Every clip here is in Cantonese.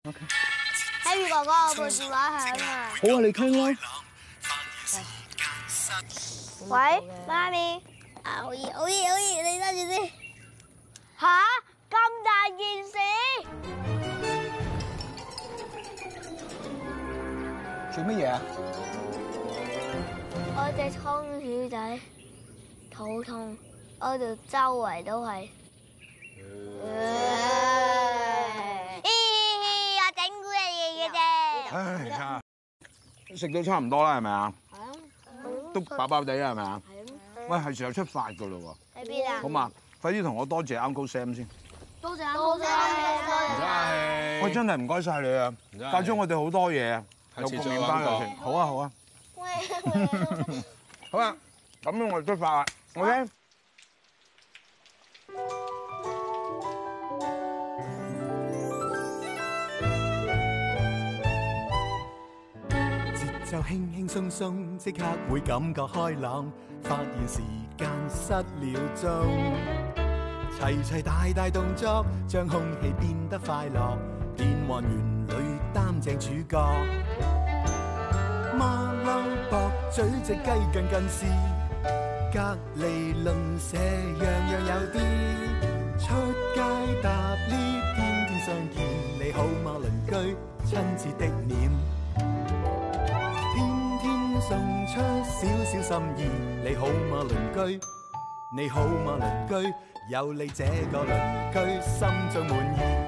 Harry 哥哥，我部電話響啊！ 好啊，你傾啦。 喂，媽咪。好嘢，你揸住先。吓，咁大件事？ 做乜嘢啊？ 我隻倉鼠仔肚痛，我度周圍都係。我整蠱你嘅啫。 唉，你睇下，食到差唔多啦，係咪啊？都飽飽地啦，係咪啊？喂，係時候出發噶咯喎。 喺邊啊？ 好嘛，快啲同我多謝 Uncle Sam 先。 多謝 Uncle Sam。 喂，真係唔該晒你啊！教咗我哋好多嘢啊，有個麵包又食。好啊，好啊。好啦，咁我哋出發啦。OK。 節奏輕輕鬆鬆，即刻會感覺開朗，發現時間失了蹤。齊齊大大動作，將空氣變得快樂，變幻園裏擔正主角。馬騮駁嘴隻雞近視，隔離鄰舍樣樣有啲。出街搭 lift，天天相見，你好嗎鄰居？親切的臉，天天送出少少心意，你好嗎鄰居？你好嗎鄰居？有你這個鄰居，心中滿意。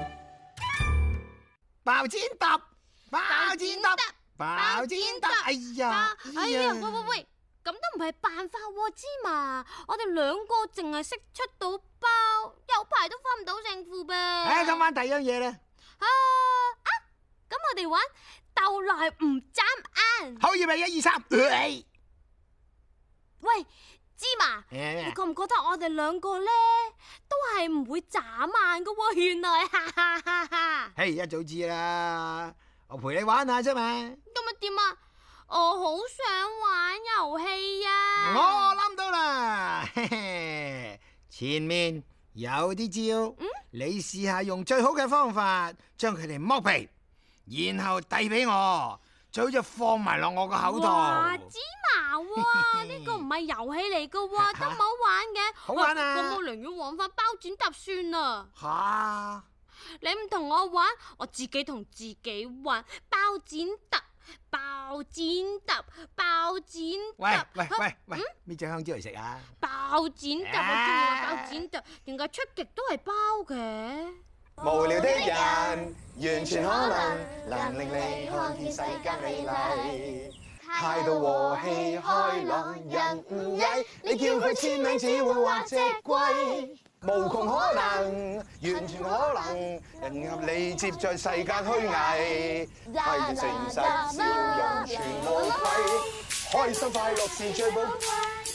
爆煎揼，爆煎揼，爆煎揼，哎呀！ 喂，咁都唔係辦法喎，芝麻，我哋兩個淨係識出到包，有排都分唔到勝負噃。 唉，咁玩第二樣嘢啦。 咁我哋玩鬥來唔眨眼。 好，預備1、2、3。 喂，芝麻，你覺唔覺得我哋兩個咧都係唔會眨眼噶喎？原來，哈哈哈哈！ 嘿，一早知啦，我陪你玩下啫嘛。 咁咪點啊？我好想玩遊戲啊！ 我諗到啦，嘿嘿，前面有啲招，你試下用最好嘅方法將佢哋剝皮，然後遞俾我，最好就放埋落我個口度。 哇，芝麻喎，呢個唔係遊戲嚟噶喎，都唔好玩嘅。 好玩啊！ 咁我寧願玩翻包剪揼算啦。 吓？ 你唔同我玩，我自己同自己玩包剪揼。包剪揼，包剪揼。 喂，搣隻香蕉嚟食啊！ 包剪揼，我中意玩包剪揼，點解出極都係包嘅？ 無聊的人完全可能令你看見世間美麗，態度和氣開朗，人唔曳，你叫佢簽名只會畫隻龜。無窮可能，完全可能，人合你接在世間虛偽，係誠實笑容全無愧，開心快樂是最寶貴。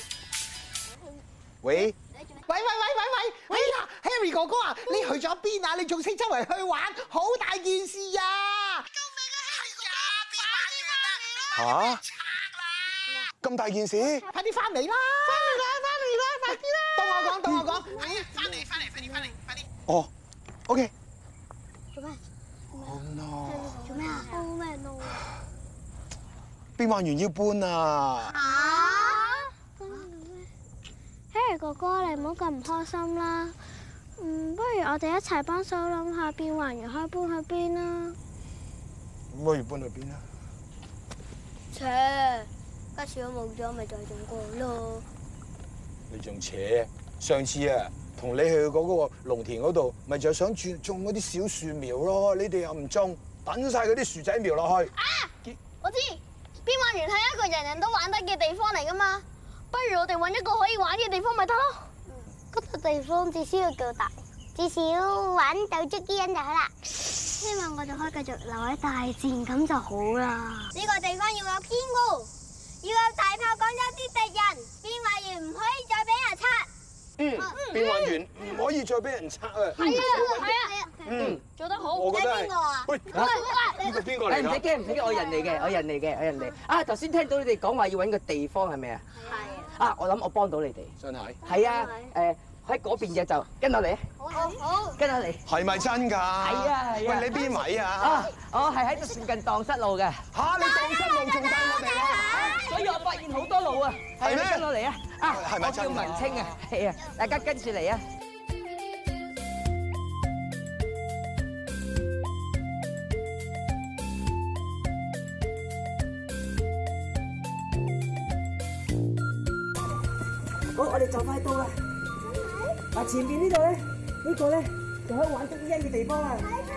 喂呀 ，Harry 哥哥啊，你去咗邊啊？你仲識周圍去玩，好大件事啊！救命啊 Harry 啊！變壞嚇？咁大件事？ 快啲翻嚟啦！快啲啦！到我講，係啊，翻嚟，快啲！ 哦 ，OK。 做咩？ Oh no！ 做咩啊？好咩 no？ 變幻園要搬啊 ！Harry 哥哥，你唔好咁唔開心啦。不如我哋一齊幫手諗下變幻園可以搬去邊啦。 不如搬去邊啊？ 家次都冇咗，咪就係種過咯。 你仲扯？上次啊，同你去嗰個農田嗰度，咪就想種嗰啲小樹苗咯。你哋又唔種，等晒嗰啲樹仔苗落去。 我知，變幻園係一個人人都玩得嘅地方嚟噶嘛。不如我哋搵一個可以玩嘅地方咪得咯。嗰個地方至少要夠大，至少玩到足啲人就好啦。希望我哋可以繼續留喺大自然咁就好啦。呢個地方要有堅固，要有大炮趕走啲敵人，變幻園唔可以再俾人拆。 變幻園唔可以再俾人拆啊！ 係啊，做得好。 我覺得係。 邊個啊？ 喂，呢個邊個嚟㗎？ 唔使驚，我人嚟嘅。啊，頭先聽到你哋講話要揾個地方係咪啊？ 係。 啊，我諗我幫到你哋。 真係。 係啊， 喺嗰邊嘅就跟落嚟。 好。 跟落嚟。 係咪真㗎？係啊。 喂，你邊位啊？ 啊，我係喺附近蕩失路嘅。 嚇！你蕩失路仲帶我哋啊？ 所以我發現好多路啊。 係咩？ 跟落嚟啊！啊， 係咪真㗎？ 我叫文清啊。係啊，大家跟住嚟啊！好，我哋就快到啦。嗱，前邊呢度咧，呢個咧就可以玩捉伊人嘅地方啊。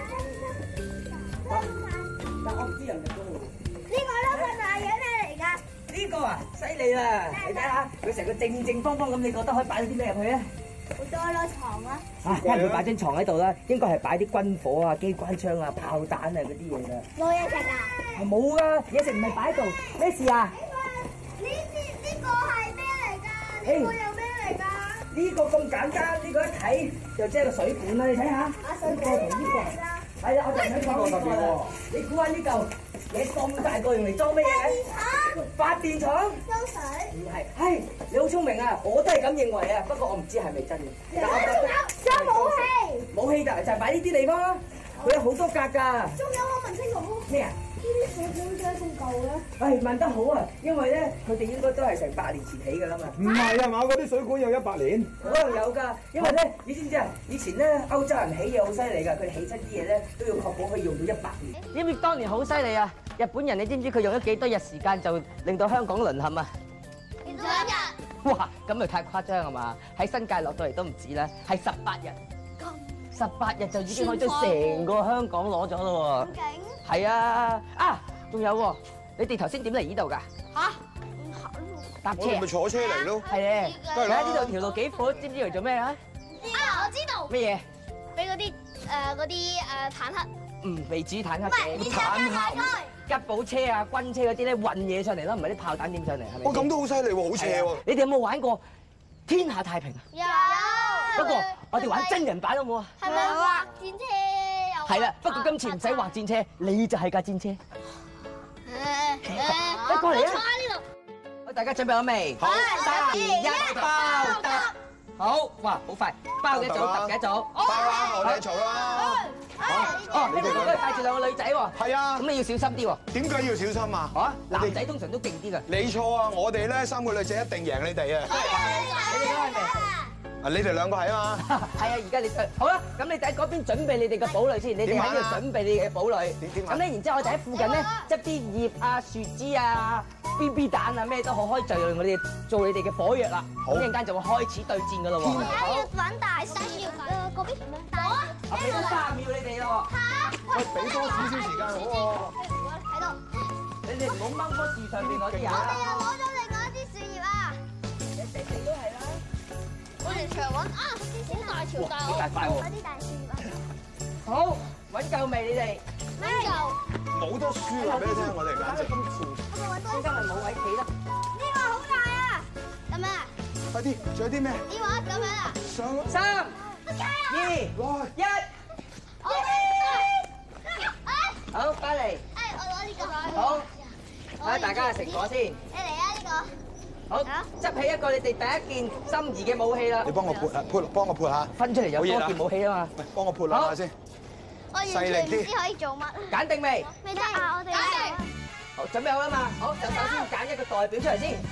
但我唔知人入咗去。 呢個係大嘢咩嚟㗎？ 呢個啊，犀利啦！你睇下，佢成個正方方咁，你覺得可以擺到啲咩入去啊？ 好多咯，床啊！ 啊，梗係唔會擺張床喺度啦，應該係擺啲軍火啊、機關槍啊、炮彈啊嗰啲嘢㗎。 冇嘢食㗎？ 係冇㗎，嘢食唔係擺喺度，咩事啊？ 呢個係咩嚟㗎？呢個又咩嚟㗎？ 呢個咁簡單，呢個一睇就即係個水管啦，你睇下。 水管嚟㗎？ 係啊，我就想講呢個啦。你估下呢嚿嘢咁大個用嚟裝咩嘢嘅？發電廠。裝水。唔係，係你好聰明啊！我都係咁認為啊，不過我唔知係咪真嘅。 仲有武器。 武器就係擺呢啲地方啦，佢有好多格㗎。 仲有我問清楚。咩啊？呢啲水管點解咁舊咧？ 唉，問得好啊，因為咧佢哋應該都係成100年前起㗎啦嘛。 唔係啊嘛，嗰啲水管有100年。 可能有㗎，因為咧，你知唔知啊？以前咧歐洲人起嘢好犀利㗎，佢哋起親啲嘢咧都要確保可以用到100年。知唔知當年好犀利啊？日本人你知唔知佢用咗幾多日時間就令到香港淪陷啊 2日。 哇！咁咪太誇張係嘛？喺新界落到嚟都唔止啦，係18日。18日就已經可以將成個香港攞咗咯喎。 勁！ 係啊！啊，仲有喎，你哋頭先點嚟呢度㗎？ 嚇！ 搭車我哋咪坐車嚟咯。 係咧， 梗係啦睇下呢度條路幾闊，知唔知嚟做咩啊？ 我知道。 咩嘢？ 俾嗰啲坦克。 未至於坦克嘅。 坦克。 吉寶車啊、軍車嗰啲咧運嘢上嚟啦，唔係啲炮彈點上嚟係咪？ 哇，咁都好犀利喎，好斜喎。 你哋有冇玩過天下太平啊？ 有。 不過我哋玩真人版好冇啊？ 係咪畫戰車有？ 係啦，不過今次唔使畫戰車，你就係架戰車。你過嚟啊！ 坐喺呢度。 好，大家準備好未？ 好 3、2、1，包得。好，哇，好快，包幾組，揼幾組。 包啦，我哋嘈啦。 哦，你哋嗰度帶住2個女仔喎。 係啊。 咁你要小心啲喎。 點解要小心啊？ 嚇，男仔通常都勁啲㗎。 你錯啊！我哋咧3個女仔一定贏你哋啊！ 你哋都係咪？ 啊，你哋2個係啊嘛。 係啊，而家你好啦，咁你哋喺嗰邊準備你哋嘅堡壘先，你哋喺呢度準備你嘅堡壘。咁咧，然之後我哋喺附近咧執啲葉啊、樹枝啊、BB 彈啊咩都好，可以就用我哋做你哋嘅火藥啦。咁陣間就會開始對戰㗎咯喎。 要揾大聲要嗰邊大。 我俾多3秒你哋咯喎。 喂，俾多少少時間好喎。 喺度。 你哋唔好掹棵樹上邊嗰啲啊。 我哋又攞咗另外一啲樹葉啊！ 你都係啦。 我哋長揾啊，好大條大好大塊喎。 嗰啲大樹葉啊！ 好，揾夠未你哋？ 咩夠？ 冇得輸話俾你聽，我哋簡直。 咁遲，中間咪冇位企啦。 呢個好大啊！咁樣啊？ 快啲，仲有啲咩？ 呢個咁樣啊？ 上。 3、2、1，好，翻嚟。 我攞呢個。 好，睇下大家嘅成果先。 你嚟啊呢個。 好，執起一個你哋第一件心儀嘅武器啦。 你幫我撥啊，幫我撥下。 分出嚟有多件武器啊嘛。 喂，幫我撥兩下先。 我完全唔知可以做乜。 揀定未？ 未得啊！我哋揀定。 好，準備好啦嘛。好，就首先揀一個代表出嚟先。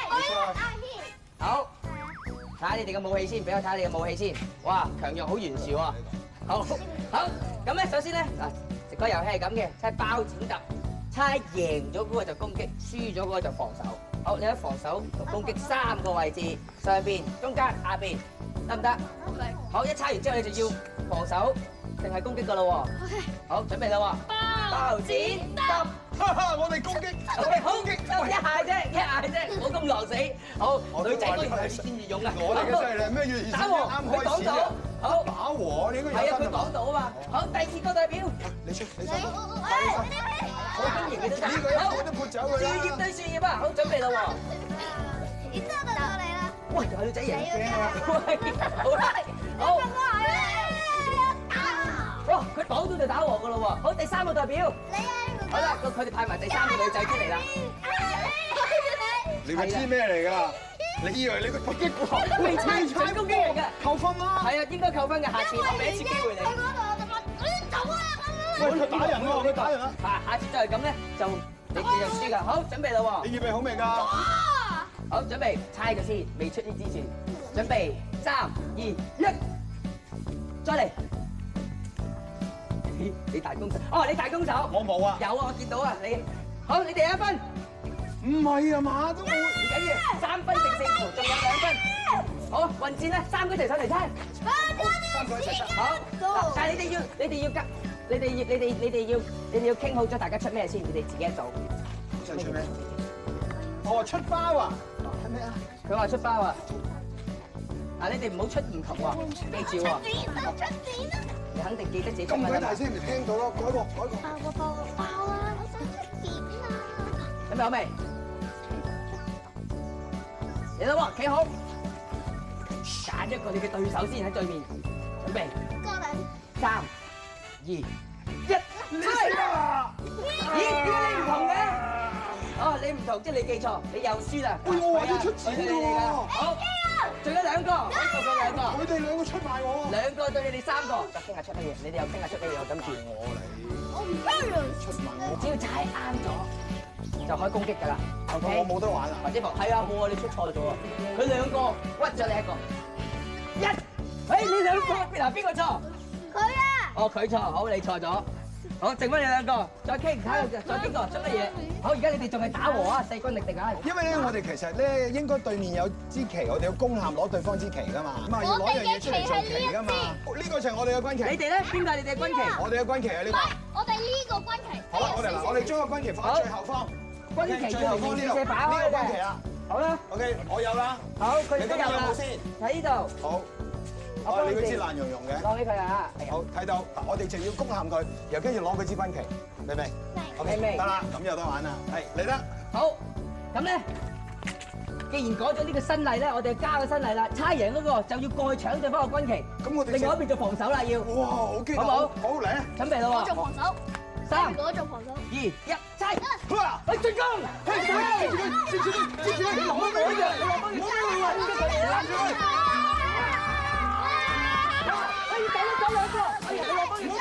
好，睇下你哋嘅武器先，俾我睇下你嘅武器先。哇，強弱好懸殊喎。好，好，咁咧首先咧嗱，食個遊戲係咁嘅，即係包剪揼，猜贏咗嗰個就攻擊，輸咗嗰個就防守。好，你喺防守同攻擊3個位置，上邊、中間、下邊，得唔得？好，一猜完之後你就要防守定係攻擊噶咯喎。好，準備啦喎。包剪揼。 我哋攻擊。 好，就一下啫，唔好咁狼死。好，女仔當然係先至勇啊。 我哋嘅犀利咩？要打和，佢講到。好， 打和，你應該有。 係啊，佢講到啊嘛。好，第2個代表。 你出。 好經驗嘅都得。 呢個一個都撥走佢啦。 樹葉對樹葉啊，好準備啦喎。 然之後到我哋啦。 喂，有女仔贏嘅。好啦，好。哇，佢擋到就打和噶啦喎。好，第3個代表。 你啊！ 好啦，佢哋派埋第3個女仔出嚟啦。 你咪知咩嚟㗎？ 你以為你個突擊過？ 未猜準攻擊嚟嘅， 扣分啦！ 係啊，應該扣分嘅。下次我俾一次機會你。 喺嗰度我就問，走啊！ 喂，佢打人喎，佢打人啦！ 下次再係咁咧，就你就輸㗎。好，準備啦喎！ 你預備好未㗎？ 好，準備猜佢先，未出呢之前，準備3、2、1，再嚟。你大攻手，哦，你大攻手， 我冇啊！ 有啊，我見到啊，你好，你哋1分。 唔係啊嘛，都冇。 唔緊要，3分定勝負，仲有2分。好，混戰咧，3個一齊上嚟猜。 三個一齊猜。 好，嗱，但係你哋要夾，你哋要傾好咗，大家出咩先？你哋自己一組。 想出咩？哦，出包啊！係咩啊？ 佢話出包啊！嗱，你哋唔好出唔同喎，記住喎。你肯定記得自己出乜咁鬼大聲，咪聽到咯！改個。 爆啊！我想出點啊！ 準備好未？嚟啦喎，企好，揀一個你嘅對手先喺對面，準備。3、2、1，猜啊！咦？點解你唔同嘅？哦，你唔同，即係你記錯，你又輸啦。 喂，我話要出錢㗎喎。 好，仲有2個，好，仲有2個。 佢哋2個出賣我。 2個對你哋3個，就傾下出乜嘢？你哋又傾下出乜嘢？我今次我嚟。出賣我。 只要猜啱咗，就可以攻擊㗎啦。OK， 我冇得玩啊！ 或者係啊，冇啊，你出錯咗啊！佢2個屈咗你1個。你2個邊個錯？ 佢啊！ 哦，佢錯，好，你錯咗。好，剩翻你2個，再傾，睇下再邊個出乜嘢。好，而家你哋仲係打和啊，勢均力敵啊！ 因為咧，我哋其實咧應該對面有支旗，我哋要攻陷攞對方支旗㗎嘛，咁啊要攞樣嘢出嚟做旗㗎嘛。呢個就係我哋嘅軍旗。 你哋咧邊個係你哋嘅軍旗？ 我哋嘅軍旗係呢個。 我哋呢個軍旗。 好啦，我哋將個軍旗放喺最後方。 軍旗最後方呢度，呢個軍旗啊。 好啦。 OK，我有啦。 好，佢哋都有啦。 先？ 喺呢度。 好。哦，你嗰支爛溶溶嘅。 攞俾佢啊！ 好，睇到，我哋就要攻陷佢，又跟住攞佢支軍旗，明唔明？OK，得啦，咁有得玩啦，係嚟得。好， 咁咧，既然改咗呢個新例咧，我哋加個新例啦，猜贏嗰個就要過去搶對方個軍旗。咁我哋另外一邊做防守啦，要。哇，好激動！好唔好？好嚟啊！準備啦喎。 我做防守。 3、 我做防守。 2、1，猜！去進攻！接住佢！你攞幫佢，你攞幫佢！走2個！哎呀，你攞幫佢！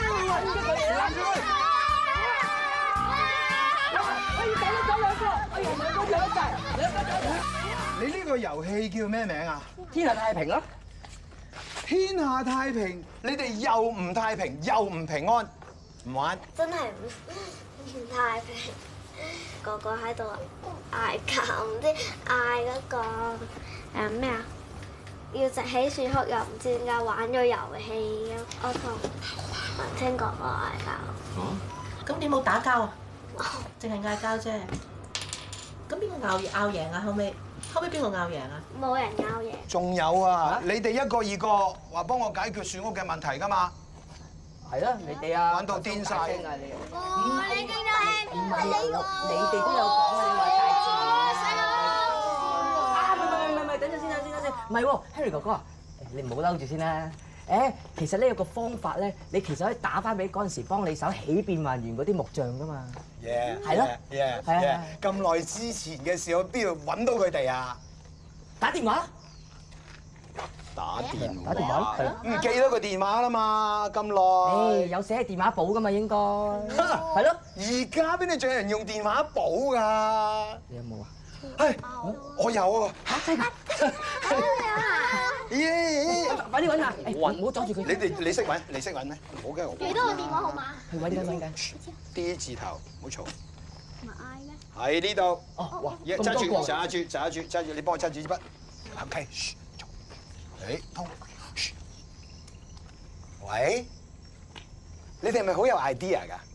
走2個！哎呀，2個走一齊，2個走。 你呢個遊戲叫咩名啊？ 天下太平咯！ 天下太平，你哋又唔太平，又唔平安，唔玩。 真係唔太平，個個喺度嗌交，唔知嗌嗰個咩啊？要直起樹哭，又唔知點解玩咗遊戲。我同文清哥哥嗌交。 咁你冇打交啊？淨係嗌交啫。咁邊個拗贏啊？後尾邊個拗贏啊？ 冇人拗贏。 仲有啊！你哋一個二個話幫我解決樹屋嘅問題㗎嘛？ 係啦，你哋啊， 玩到癲晒。 你哋都係你哋都有講啊！你話大自然啊！唔係，等陣先，唔係喎 ，Harry 哥哥，你唔好嬲住先啦。其實呢有個方法咧，你其實可以打翻俾嗰陣時幫你手起變幻園嗰啲木匠㗎嘛。係咯，係啊。 咁耐之前嘅事，我邊度揾到佢哋啊？ 打電話。 打電話， 唔記得個電話啦嘛，咁耐。 有寫喺電話簿㗎嘛，應該。係咯。 而家邊度仲有人用電話簿㗎？ 你有冇啊？ 我有啊！ 嚇真㗎！快啲揾下！唔好阻住佢。 你識揾咩？唔好嘅， 幾多個電話號碼？ 去揾緊。 D 字頭，唔好嘈。 咪嗌咩？ 喺呢度。 哦，哇！ 揸住，你幫我揸住支筆。OK，通。喂，你哋係咪好有 idea 㗎？